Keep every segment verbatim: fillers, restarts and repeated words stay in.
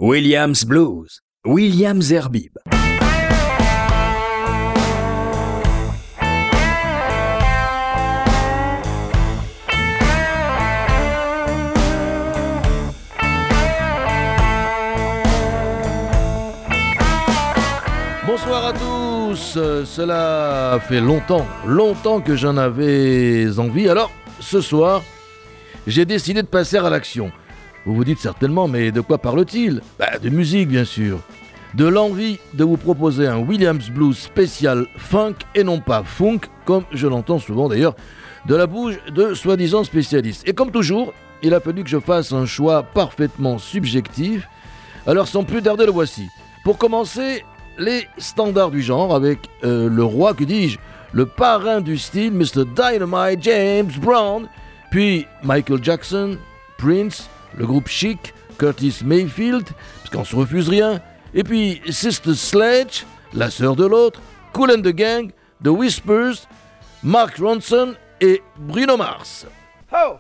Williams Blues, William Zerbib. Bonsoir à tous, cela fait longtemps, longtemps que j'en avais envie. Alors, ce soir, j'ai décidé de passer à l'action. Vous vous dites certainement, mais de quoi parle-t-il ? Bah, de musique, bien sûr. De l'envie de vous proposer un Williams Blues spécial funk et non pas funk, comme je l'entends souvent d'ailleurs, de la bouche de soi-disant spécialistes. Et comme toujours, il a fallu que je fasse un choix parfaitement subjectif. Alors, sans plus tarder, le voici. Pour commencer, les standards du genre avec euh, le roi, que dis-je, le parrain du style, mister Dynamite James Brown, puis Michael Jackson, Prince, le groupe Chic, Curtis Mayfield, parce qu'on se refuse rien, et puis Sister Sledge, la sœur de l'autre, Kool and the Gang, The Whispers, Mark Ronson et Bruno Mars. Ho!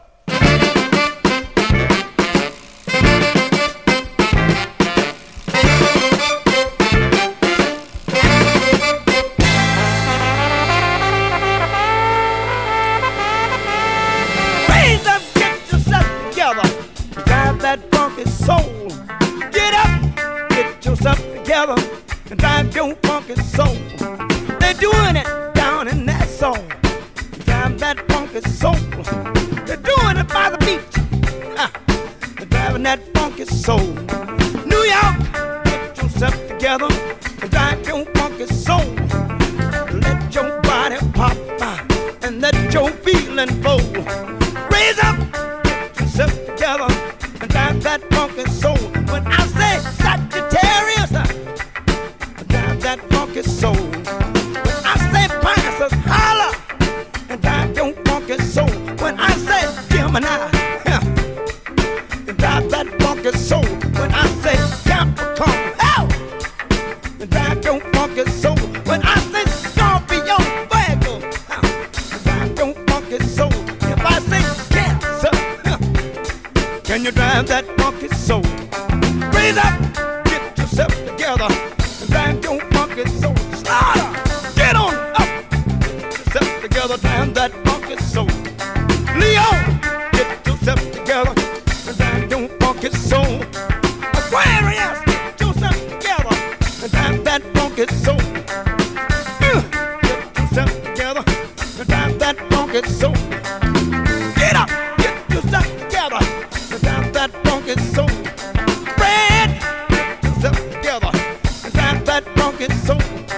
Soul. Get up, get yourself together, and drive your funky soul. They're doing it down in that soul. Drive that funky soul. They're doing it by the beach. Ah, they're driving that funky soul. New York, get yourself together, and drive your funky soul. Let your body pop ah, and let your feeling flow. Raise up, get yourself together. Drive that funky soul. When I say Sagittarius, drive that funky soul. When I say Pisces, holla, and drive your funky soul. When I say Gemini, drive that funky soul. When I say Capricorn, hell, drive your funky soul. When I say Scorpio, Virgo, drive your funky soul. If I say Cancer, can you drive that funky soul? Raise up, get yourself together, and drive your funky soul. Slaughter, get on up, get yourself together, drive that funky soul. Leo, get yourself together, and drive your funky soul. Aquarius, get yourself together, and drive that funky soul. Uh, get yourself together, and drive that funky soul. Get up, get yourself together. That funky soul. Fred, get yourself together and drive that funky soul.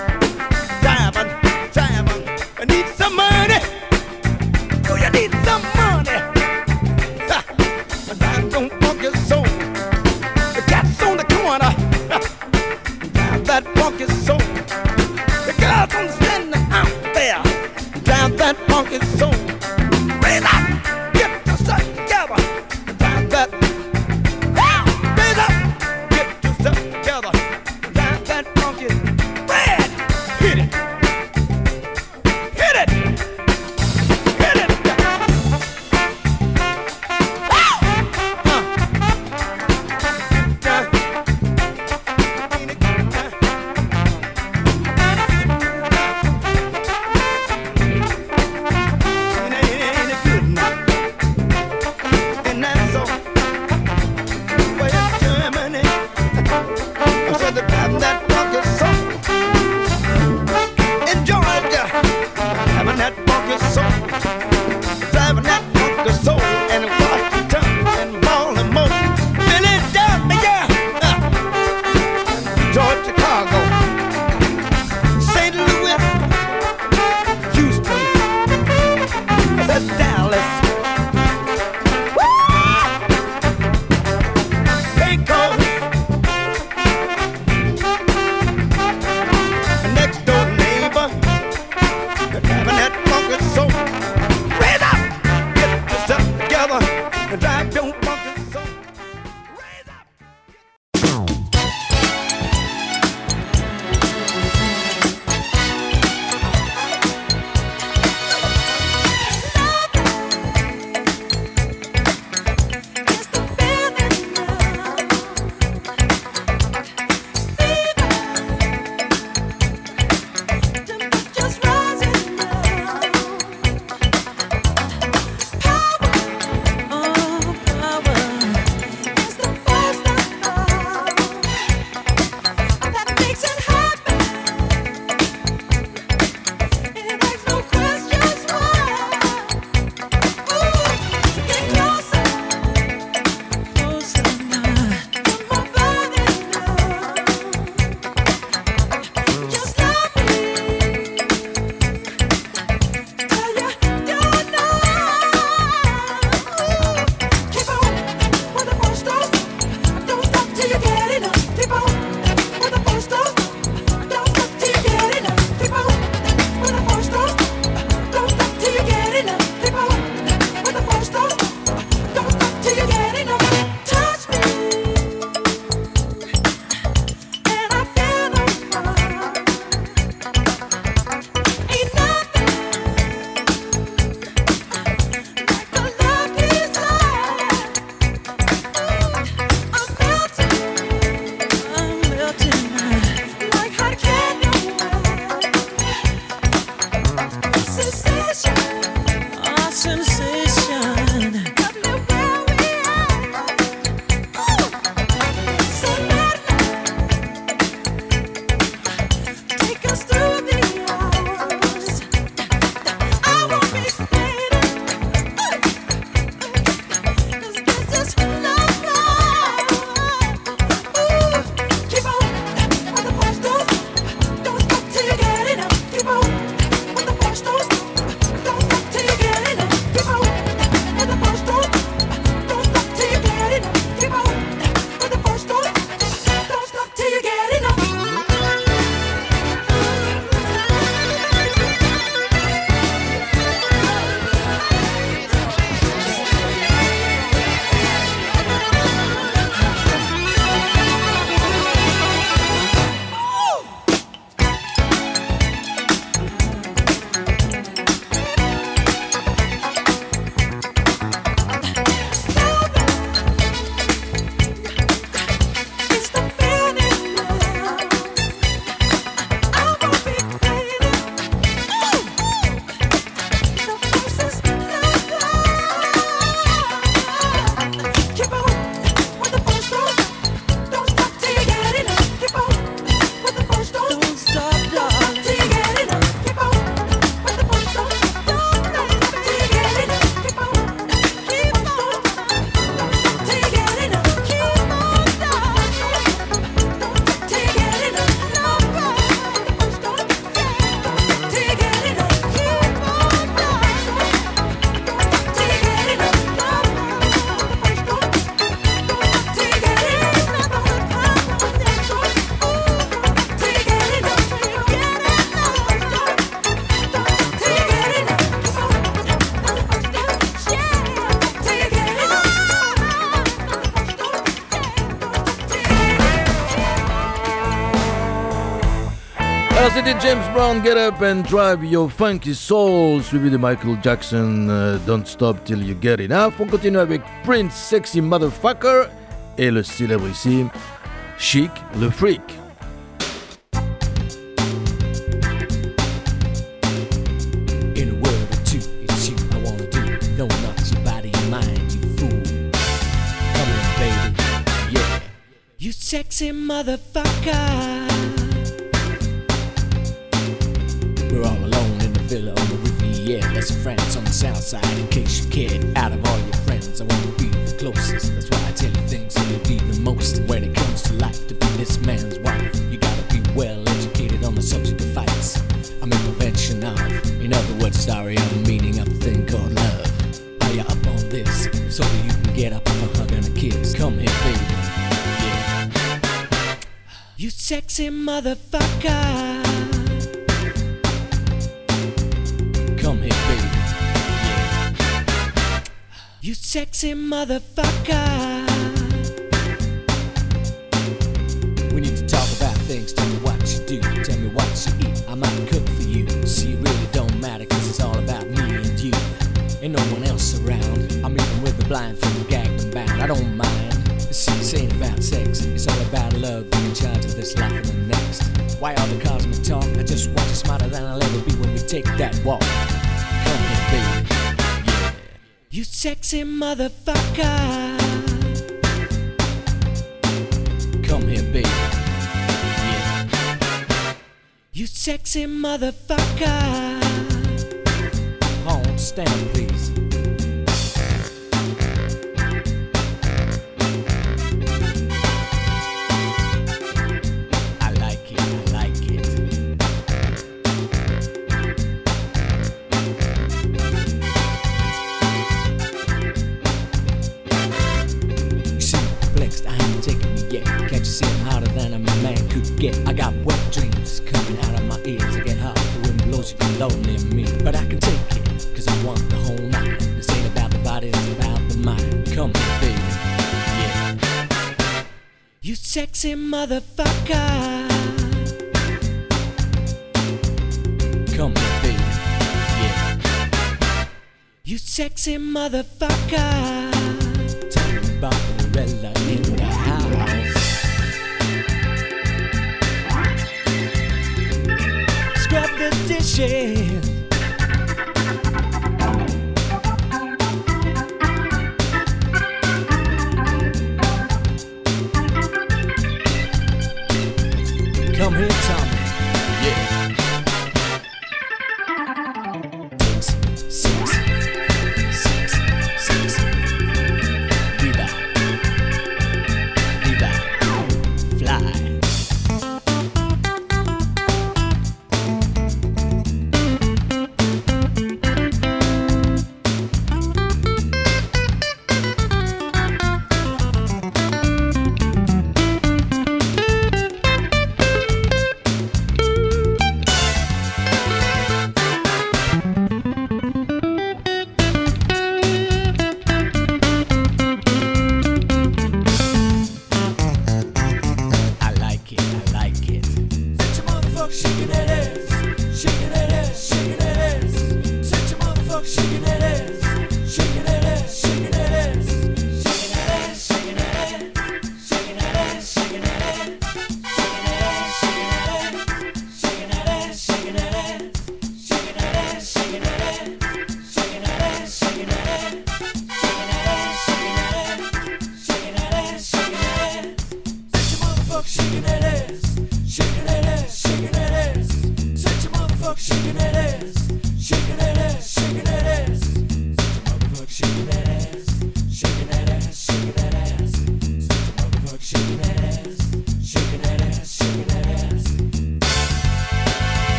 Alors c'était James Brown, Get Up and Drive Your Funky Soul, suivi de Michael Jackson, uh, Don't Stop Till You Get Enough. On continue avec Prince, Sexy Motherfucker, et le célébrissime Chic, le Freak. In a word or two, it's you I wanna do. No, not your body and mind, you fool. Come in, baby, yeah. You sexy motherfucker. We're all alone in the villa on the Riviera. There's some friends on the south side in case you cared. Out of all your friends, I wanna be the closest. That's why I tell you things that you need the most. When it comes to life, to be this man's wife, you gotta be well educated on the subject of fights. I'm in prevention of, in other words, sorry, I'm the meaning of a thing called love. Are you up on this? So that you can get up off a hug and a kiss. Come here, baby. Yeah. You sexy motherfucker. Come here, baby. Yeah. You sexy motherfucker. We need to talk about things. Tell me what you do. Tell me what you eat. I might cook for you. See, it really don't matter, cause it's all about me and you. Ain't no one else around. I'm even with the blindfold, gagged and bound. I don't mind. See, this ain't about sex. It's all about love, being in charge of this life and the next. Why all the cosmic talk? I just want you smarter than I'll ever be when we take that walk. Come here, baby. Yeah. You sexy motherfucker. Come here, baby. Yeah. You sexy motherfucker. Hold, stand, please. I got wet dreams coming out of my ears. I get hot, the wind blows, you get lonely in me. But I can take it, cause I want the whole night. This ain't about the body, it's about the mind. Come here, baby, yeah. You sexy motherfucker. Come here, baby, yeah. You sexy motherfucker. Tell me about Lorella in the house. Scrub the dishes. Come here, Tommy. Yeah. Six, six, six, six. Viva. Viva. Fly.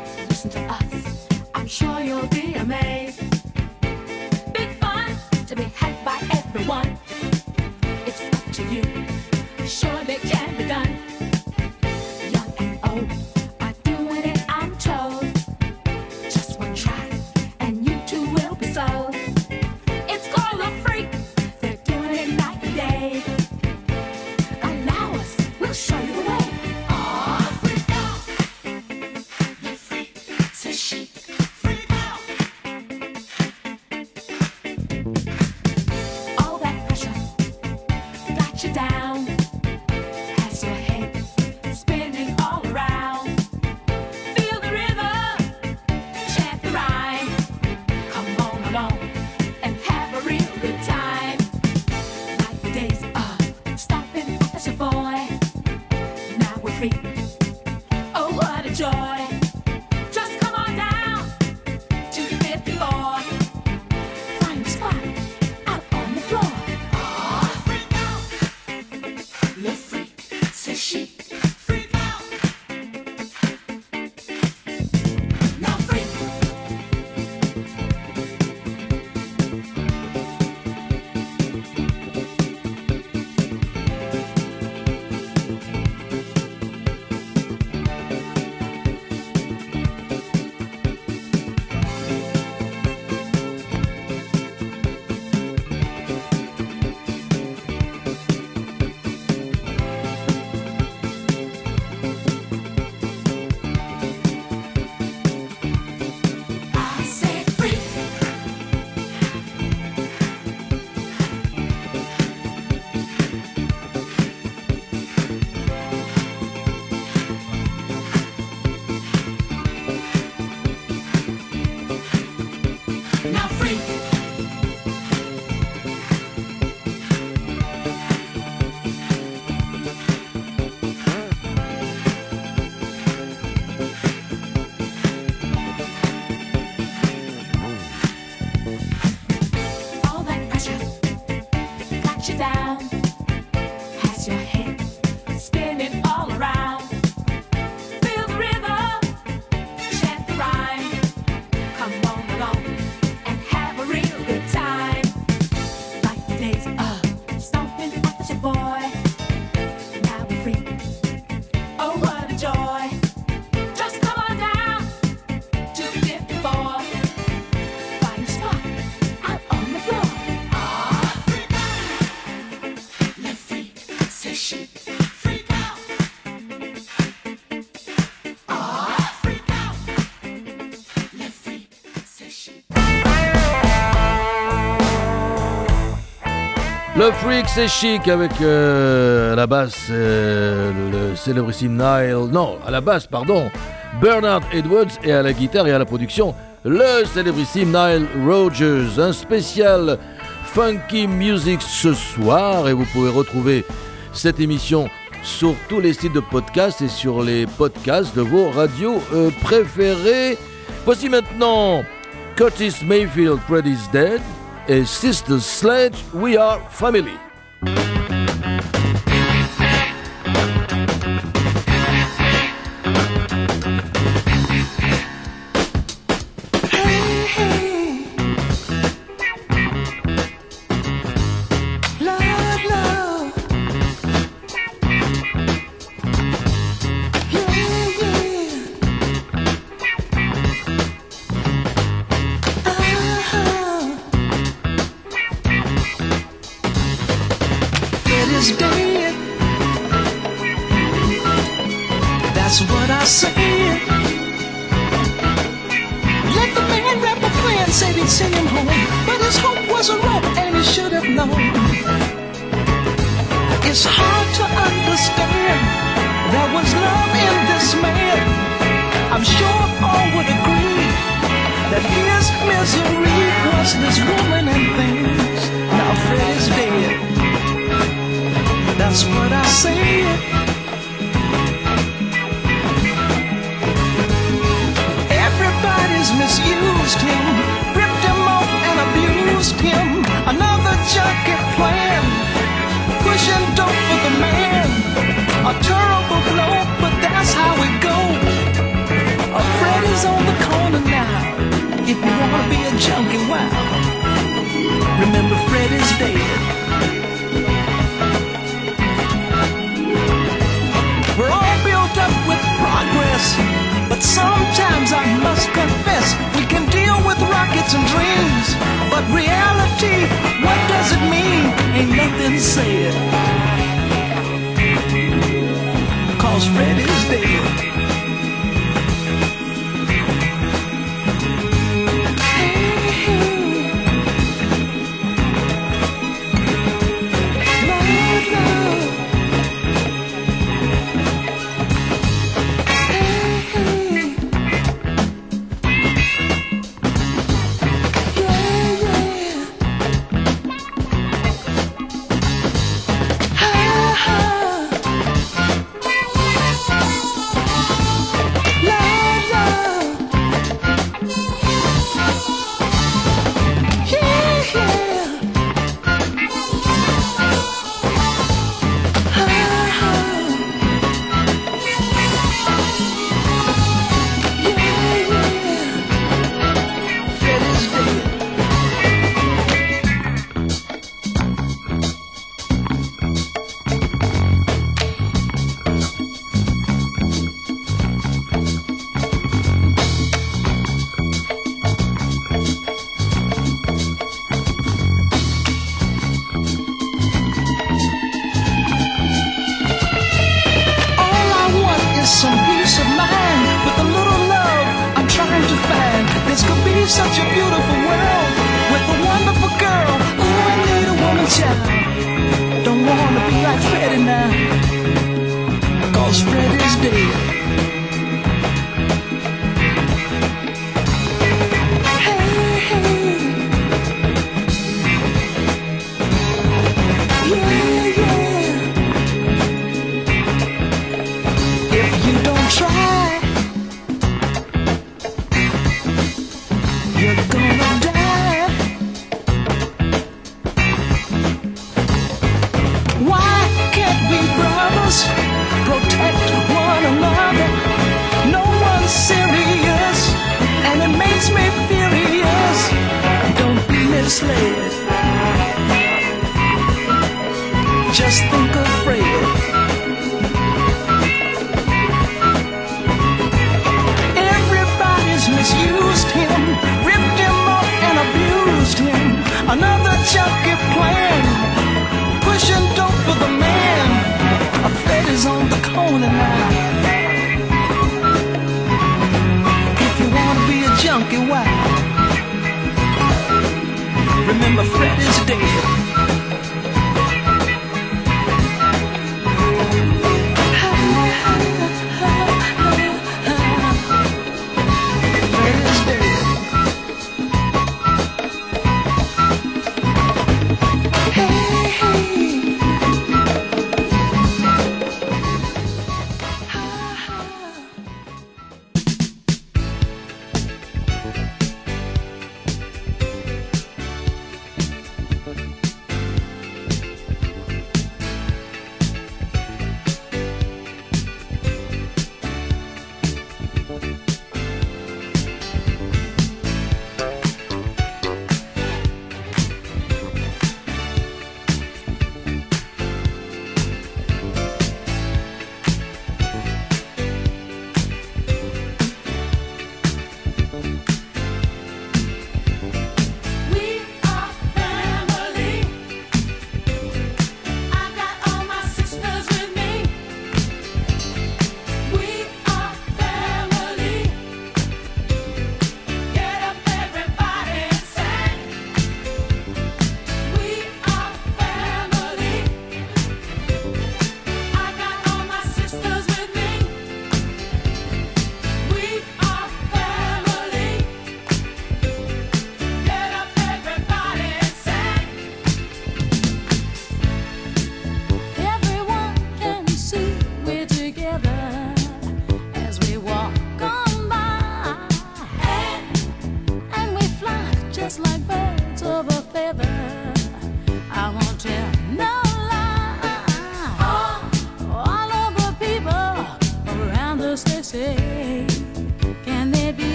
Sure you'll be amazed. Big fun to be to you. Surely can be done. Young and old are doing it, I'm told. Just one try, and you too will be sold. It's called a freak. They're doing it night and day. Allow us, we'll show you the way. Oh, freak out. The freak says she. Freak out. All that pressure got you down. Has your head spinning all around. Feel the rhythm, chant the rhyme. Come on along and have a real good time. Like the days of stomping as a boy. Now we're free. Oh, what a joy. Just come on down to the fifth floor. Find a spot out on the floor. Oh, freak out. Le freak, says she. Freak out. Now freak. I said freak. Now freak. All that pressure got you down. Has your head spinning all around. Feel the rhythm, chant the rhyme. Come on along and have a real good time. Like the days of stomping as a boy. Now we're free. Oh, what a joy. Just come on down to fifty-four. Find a spot out on the floor. Ah, freak out. Le freak, says she. Freak out. Ah, freak out. Le freak, says she. Le Freak, c'est chic avec euh, à la basse euh, le célébrissime Nile. Non, à la basse, pardon, Bernard Edwards et à la guitare et à la production, le célébrissime Nile Rodgers. Un spécial Funky Music ce soir et vous pouvez retrouver cette émission sur tous les sites de podcast et sur les podcasts de vos radios euh, préférées. Voici maintenant Curtis Mayfield, Freddy's Dead et Sister Sledge, We Are Family. Love, love. Yeah, yeah. Uh-huh. It is dead. That's what I said. Let the man rap a friend said he'd send him home, but his hope was a rope and he should have known. It's hard to understand. There was love in this man. I'm sure all would agree that his misery was this woman and things. Now Fred is dead. That's what I said. Everybody's misused him, ripped him off and abused him. Another junkie plan, pushing dope for the man. A terrible blow, but that's how it goes. A Freddy's on the corner now. If you wanna be a junkie, wow. Remember Freddy's dead. best. But sometimes I must confess, we can deal with rockets and dreams. But reality, what does it mean? Ain't nothing said. Cause Fred is dead. Such a beautiful world with a wonderful girl. Ooh, I need a woman child. Don't wanna be like Freddie now, cause Fred is dead. Hey, hey. Yeah, yeah. If you don't try, you're gonna die. Why can't we brothers protect one another? No one's serious, and it makes me furious. Don't be misled. Just think of Fred. Everybody's misused him, ripped him off and abused him. Another junkie plan, pushing dope for the man. A Fred is on the corner now. If you wanna be a junkie, why? Remember, Fred is dead.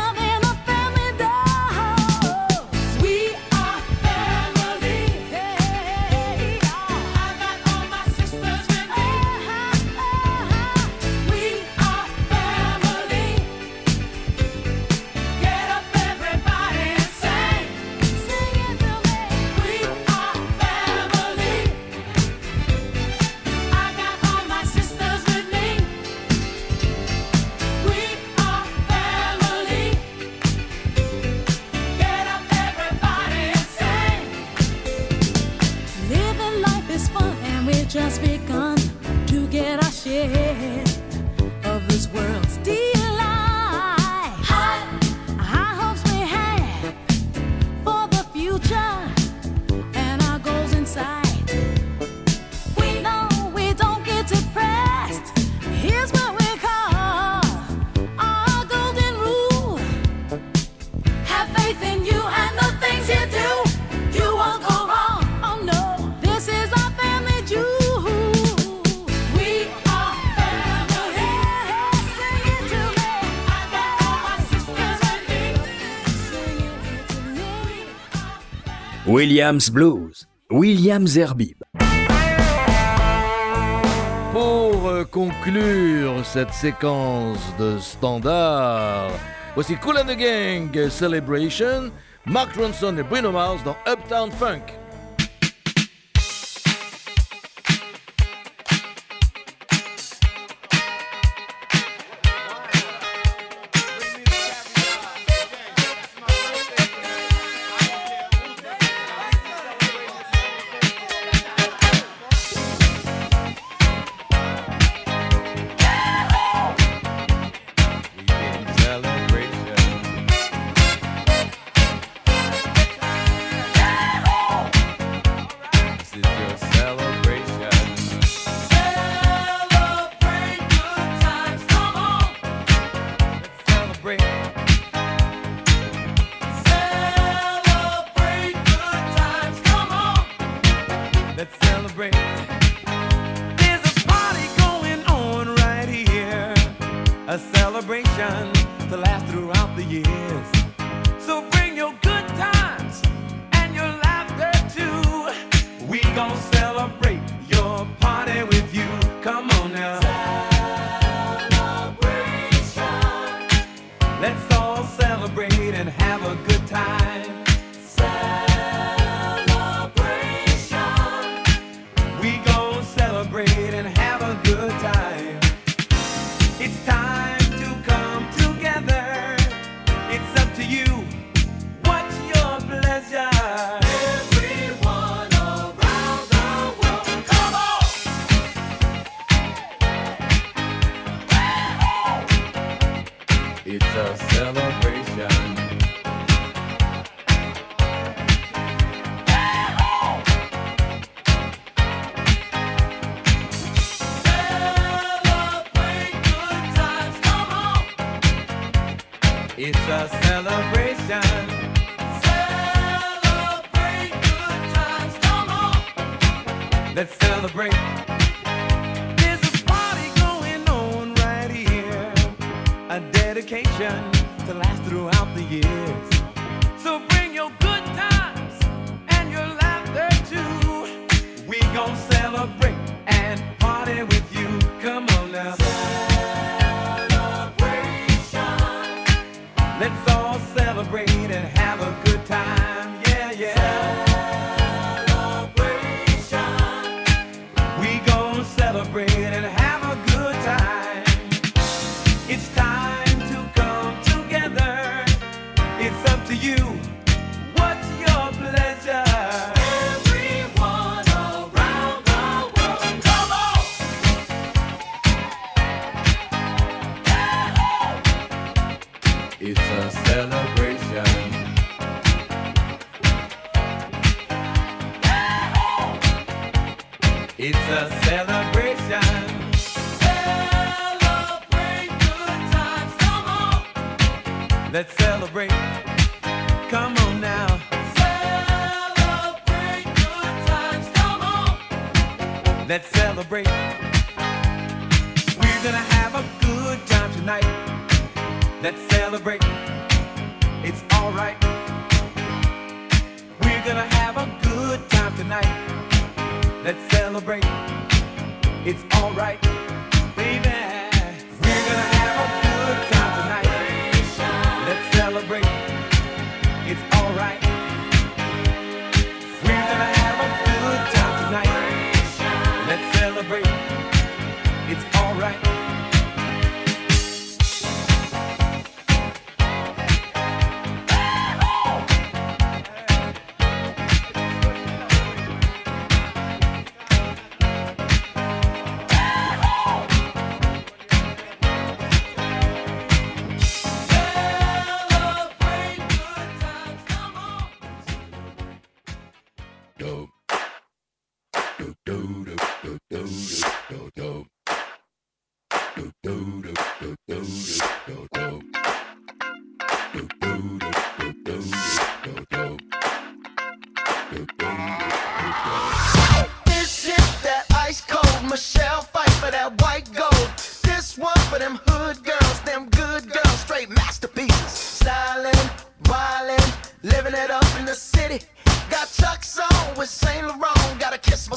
Yeah. Williams Blues, William Zerbib. Pour euh, conclure cette séquence de standards, voici Kool and the Gang, Celebration, Mark Ronson et Bruno Mars dans Uptown Funk. Living it up in the city. Got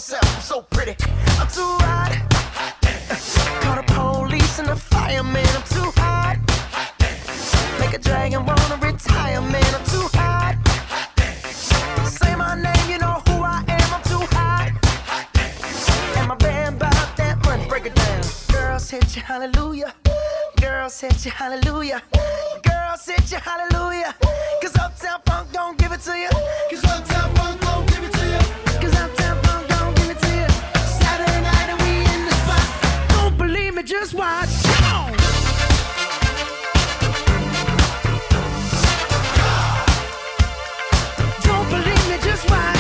yourself, I'm so pretty. I'm too hot. Call the police and the fireman, I'm too hot. Make a dragon wanna retire, man, I'm too hot. Say my name, you know who I am, I'm too hot. And my band bought that money, break it down. Girls hit you, hallelujah. Girls hit you, hallelujah. Girls hit you, hallelujah. Cause Uptown Funk don't give it to you. Cause Uptown Funk don't give it to you. Cause Uptown Funk don't give it to you. Saturday night and we in the spot. Don't believe me, just watch. Come on. Don't believe me, just watch.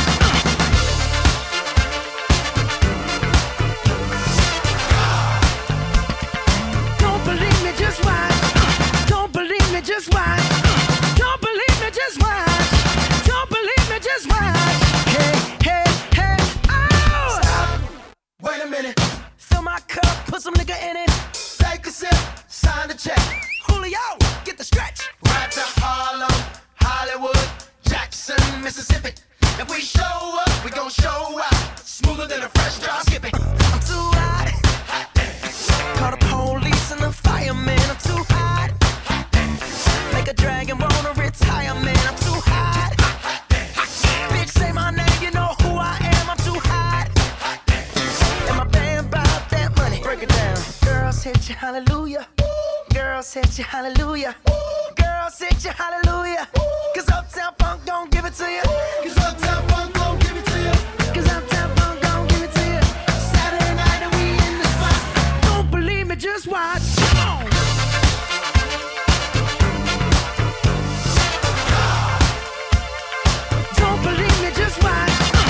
Don't believe me, just watch. Don't believe me, just watch. Don't believe me, just watch. Don't believe me, just watch. Hey, hey, hey, oh! Stop. Wait a minute. Fill my cup, put some nigga in it. Take a sip, sign the check. Julio, get the stretch. Right to Harlem, Hollywood, Jackson, Mississippi. If we show up, we gon' show out. Smoother than a fresh drop skipping. I'm too hot. Call the police and the fireman. I'm too hot. Make a dragon wanna retire, man. I'm too hot. Bitch, say my name, you know who I am. I'm too hot. And my band bought that money. Break it down. Girls hit you, hallelujah. Girls hit you, hallelujah. Girls hit you, hallelujah. Cause Uptown Funk don't give it to you. Cause Uptown Funk don't give it to you. Cause Uptown Funk don't give it to you. Saturday night and we in the spot. Don't believe me, just watch. Come on. Don't believe me, just watch.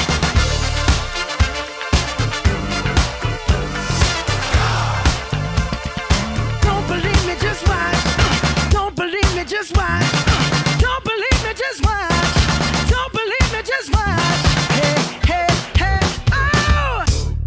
Don't believe me, just watch. Don't believe me, just watch. Don't believe me, just watch. Don't believe me, just watch. Hey, hey, hey, oh!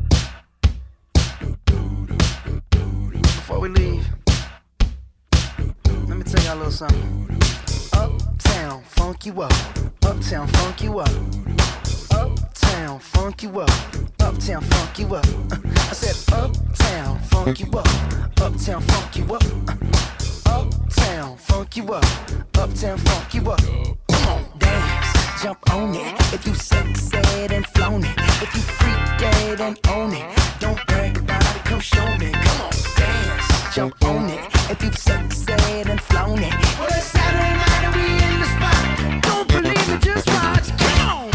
Before we leave, let me tell y'all a little something. Uptown, funk you up. Uptown, funk you up. Uptown, funk you up. Uptown, funk you up. Uh, I said uptown, funk you up. Uptown, funk you up. Uh, uptown, funk you up. Uptown, funk you up. Come on, dance, jump on it. If you sexed and flown it. If you freak dead and own it. Don't brag about it, come show me. Come on, dance, jump on it. If you sexed and flown it. Well, it's Saturday night and we in the spot. Don't believe it, just watch. Come on.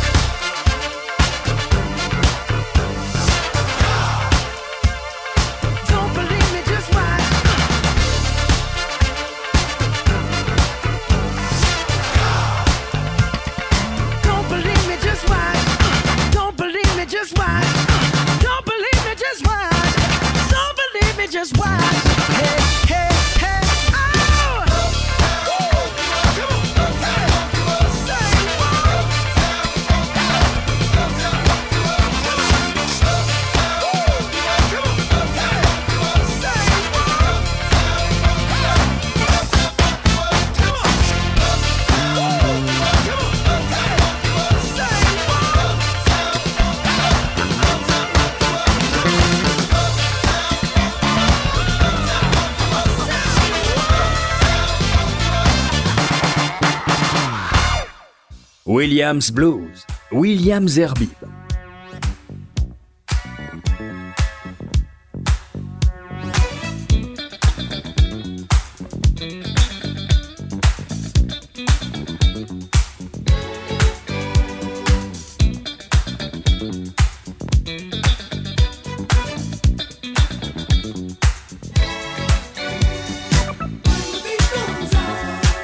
Don't believe me, just watch. Don't believe me, just watch. Don't believe me, just watch. Don't believe me, just watch. Don't believe me, just watch. Hey, hey, hey, oh! Williams Blues, William Zerbib.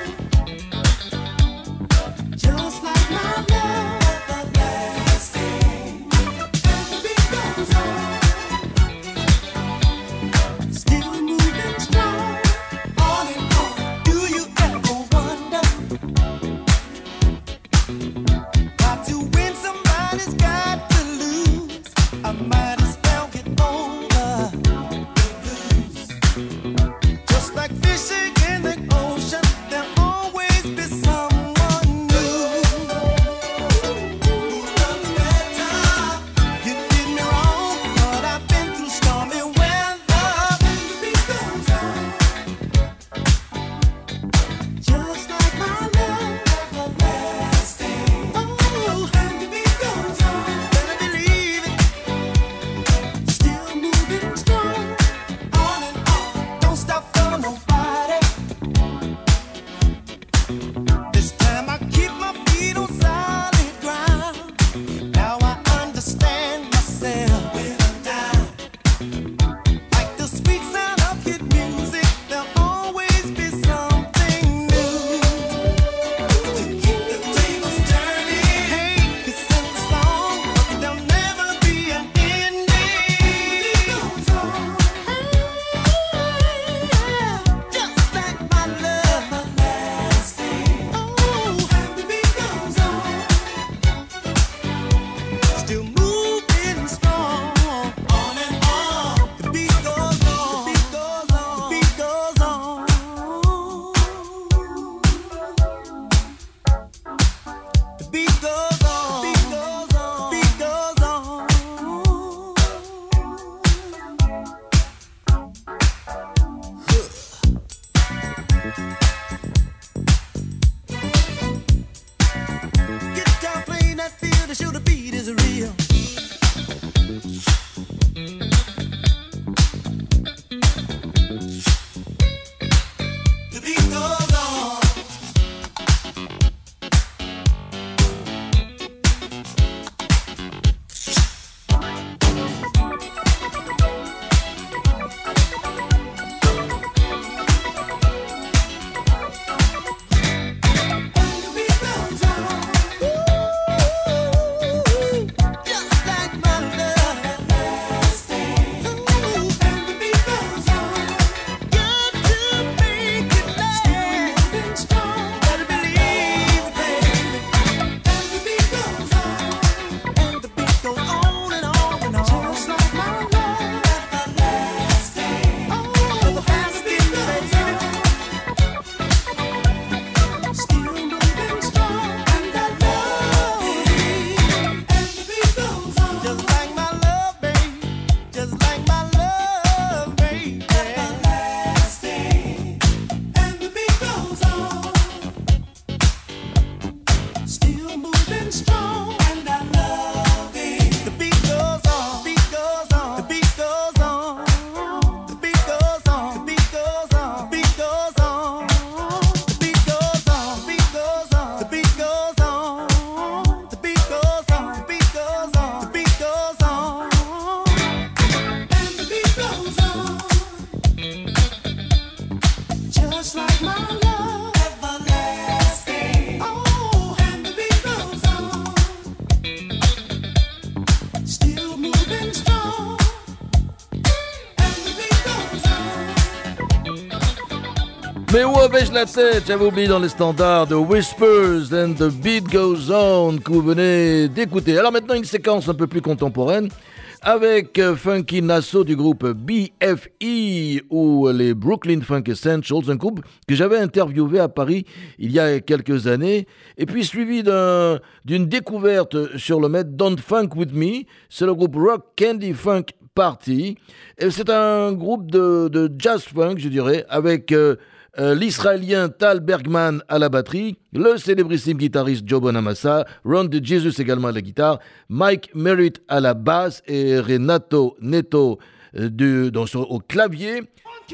Just like my love everlasting. Mais où avais-je la tête? J'avais oublié dans les standards de Whispers and the Beat Goes On que vous venez d'écouter. Alors maintenant une séquence un peu plus contemporaine avec euh, Funky Nasso du groupe B F E ou les Brooklyn Funk Essentials, un groupe que j'avais interviewé à Paris il y a quelques années, et puis suivi d'un, d'une découverte sur le net, Don't Funk With Me. C'est le groupe Rock Candy Funk Party, et c'est un groupe de, de jazz funk, je dirais, avec euh, euh, l'Israélien Tal Bergman à la batterie, le célébrissime guitariste Joe Bonamassa, Ron DeJesus également à la guitare, Mike Merritt à la basse et Renato Neto euh, du, dans, sur, au clavier.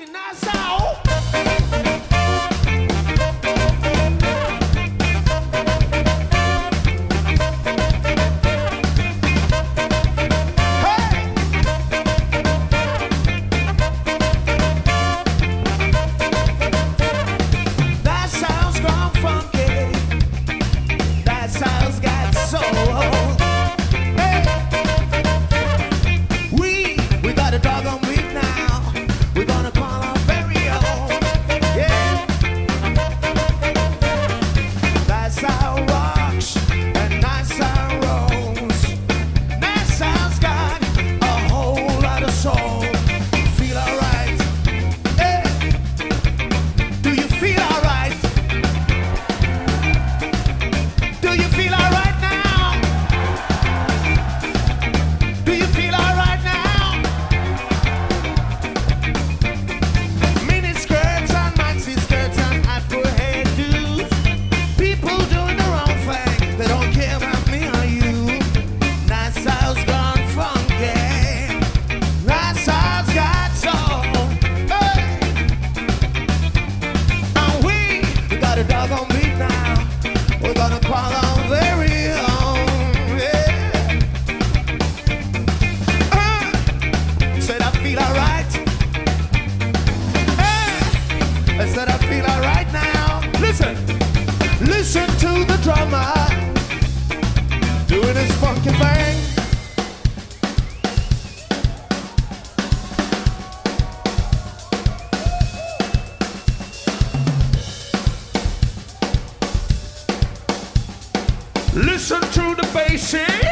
Listen to the bass.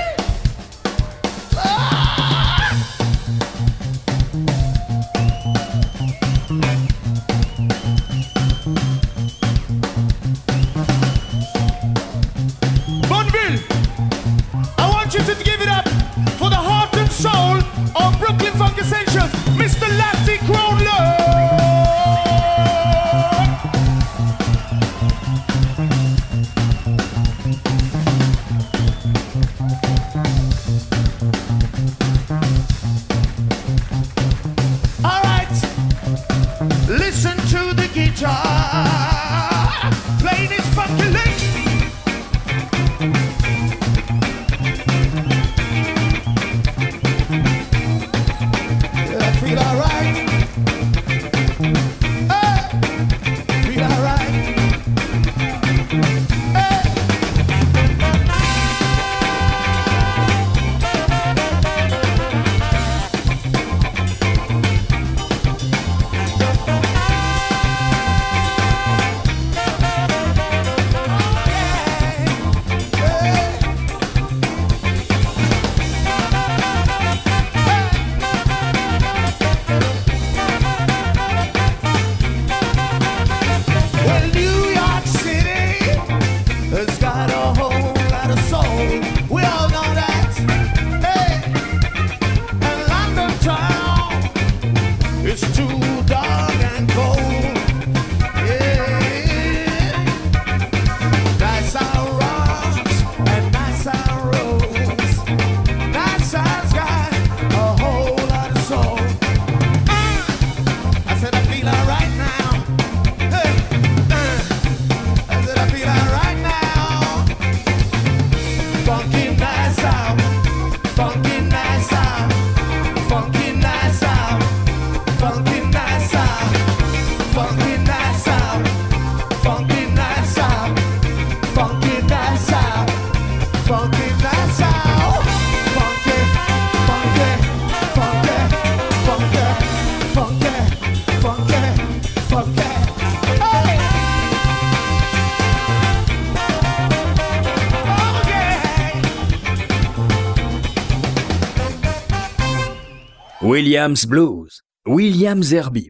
Bonneville, I want you to give it up for the heart and soul of Brooklyn Funk Essentials, Mister Lassie Crowler. Play this fucking lick. I feel alright. Hey, feel alright. Hey. Funky, funky, funky. Williams Blues, William Zerbib.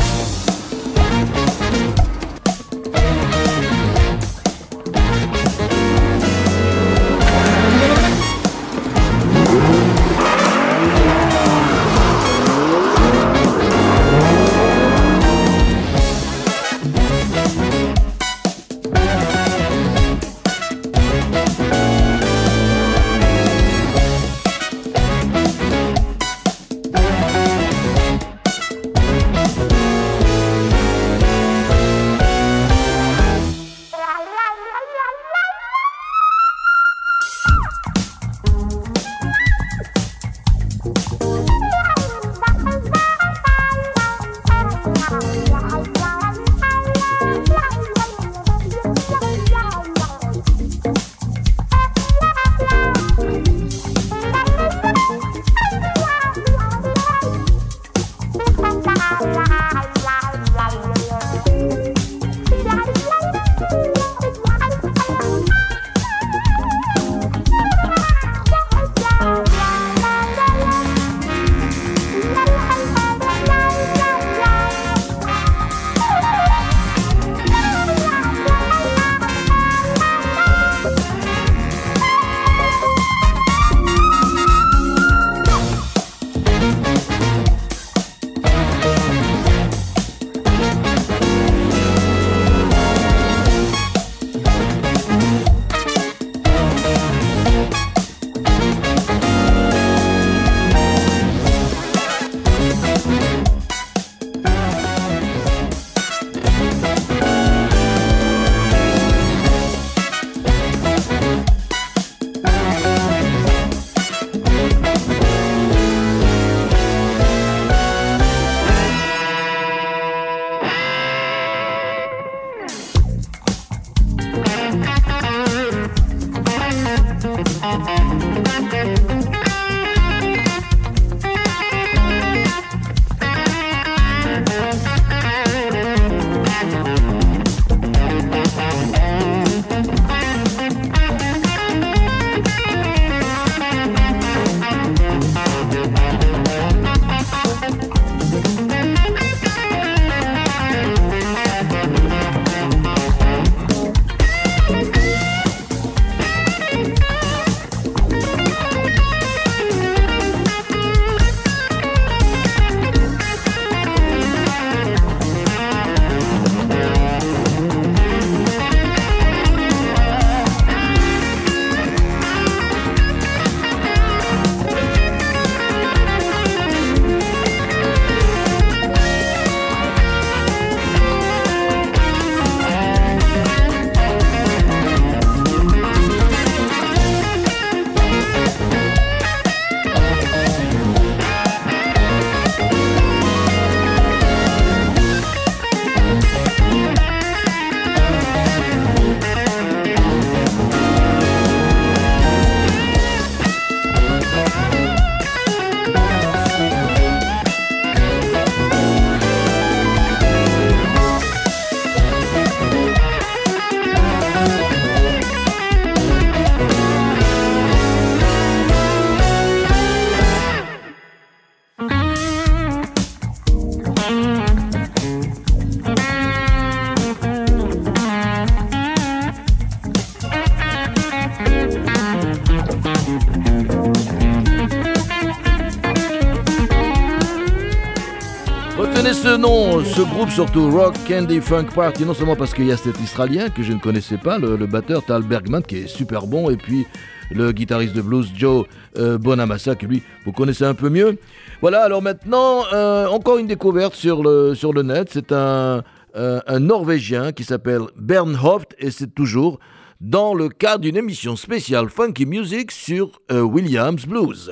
Retenez ce nom, ce groupe surtout, Rock Candy Funk Party, non seulement parce qu'il y a cet Israélien que je ne connaissais pas, le, le batteur Tal Bergman qui est super bon, et puis le guitariste de blues Joe euh, Bonamassa que lui vous connaissez un peu mieux. Voilà, alors maintenant euh, encore une découverte sur le, sur le net, c'est un, euh, un Norvégien qui s'appelle Bernhoft et c'est toujours dans le cadre d'une émission spéciale Funky Music sur euh, Williams Blues.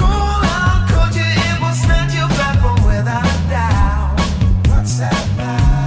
What's that about?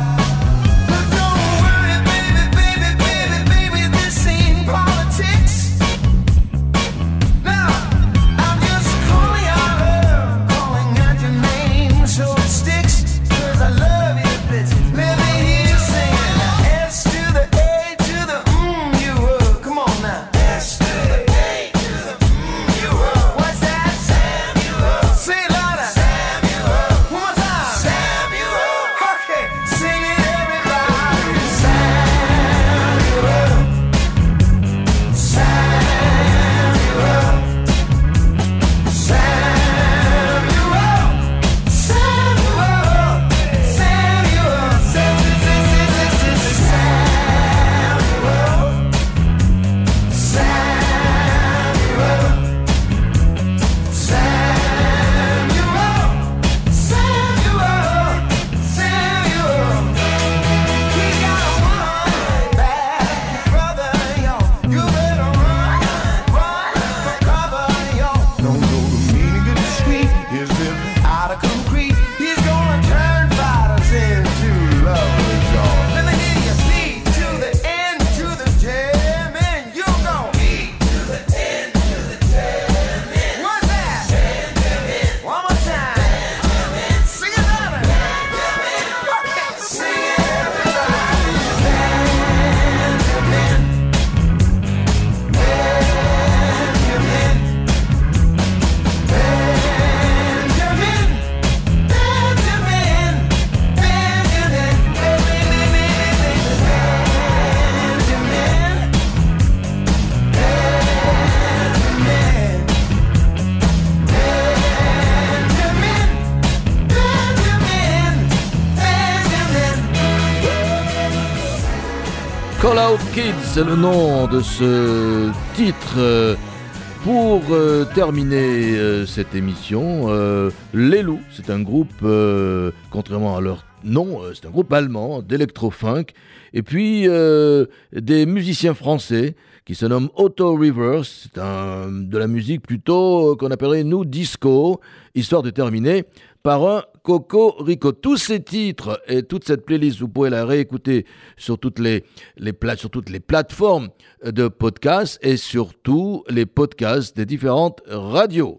Out Kids, c'est le nom de ce titre. Euh, Pour euh, terminer euh, cette émission, euh, Les Loups, c'est un groupe, euh, contrairement à leur nom, euh, c'est un groupe allemand d'électro-funk. Et puis euh, des musiciens français qui se nomment Otto Rivers, c'est un, de la musique plutôt euh, qu'on appellerait nous disco, histoire de terminer par un Coco Rico. Tous ces titres et toute cette playlist, vous pouvez la réécouter sur toutes les, les, pla- sur toutes les plateformes de podcasts et surtout les podcasts des différentes radios.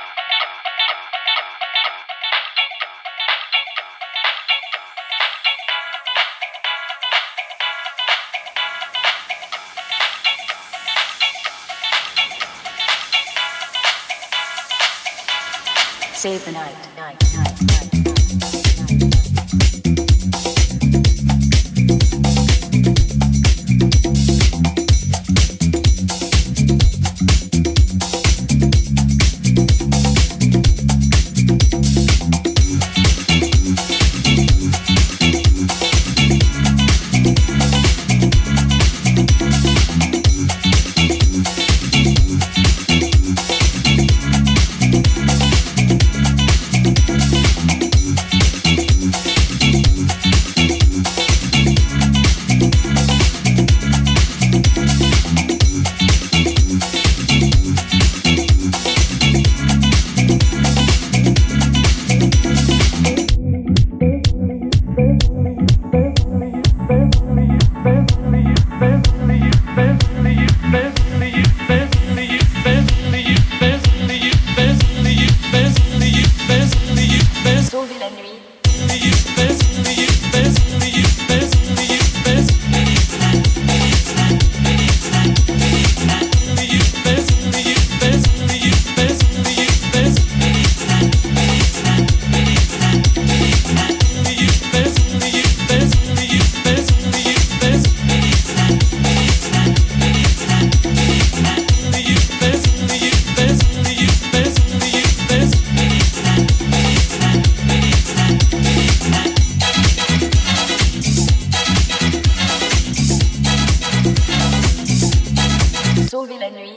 Save the night, night, night, night, night, night. Sauver la nuit.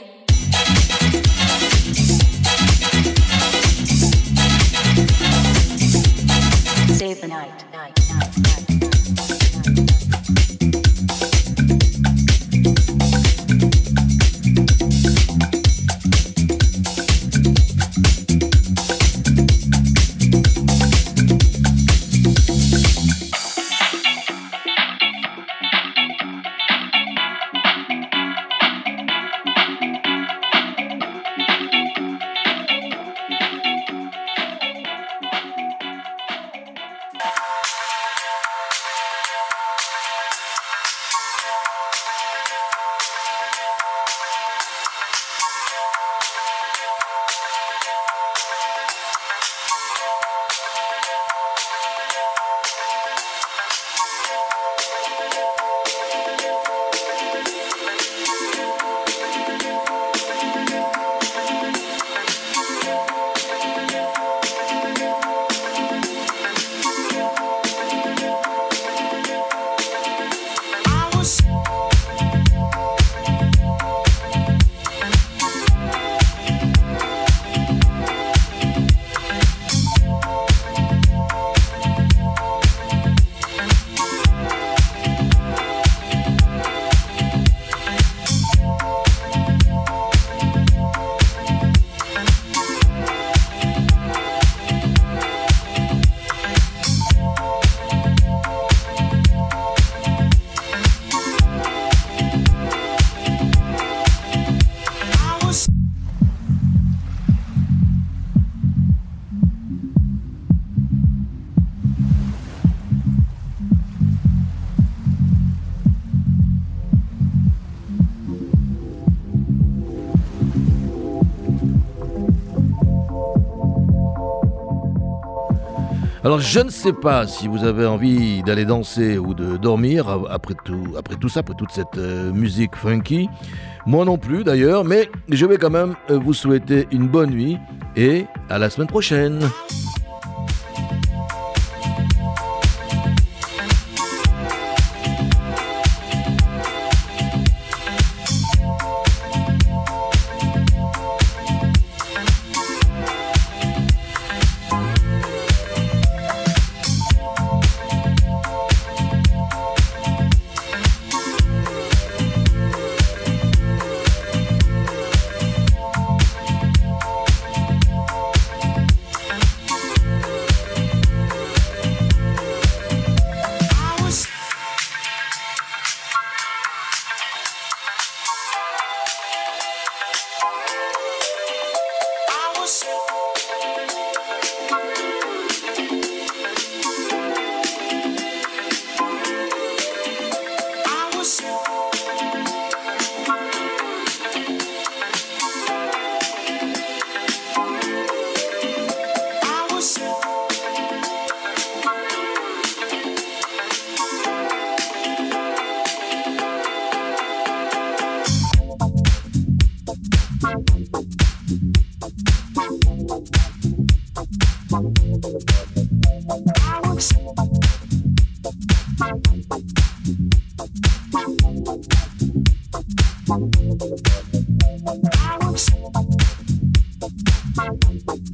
Save the night, night, night, night, night, night. Alors je ne sais pas si vous avez envie d'aller danser ou de dormir après tout, après tout ça, après toute cette euh, musique funky. Moi non plus d'ailleurs, mais je vais quand même euh, vous souhaiter une bonne nuit et à la semaine prochaine. I was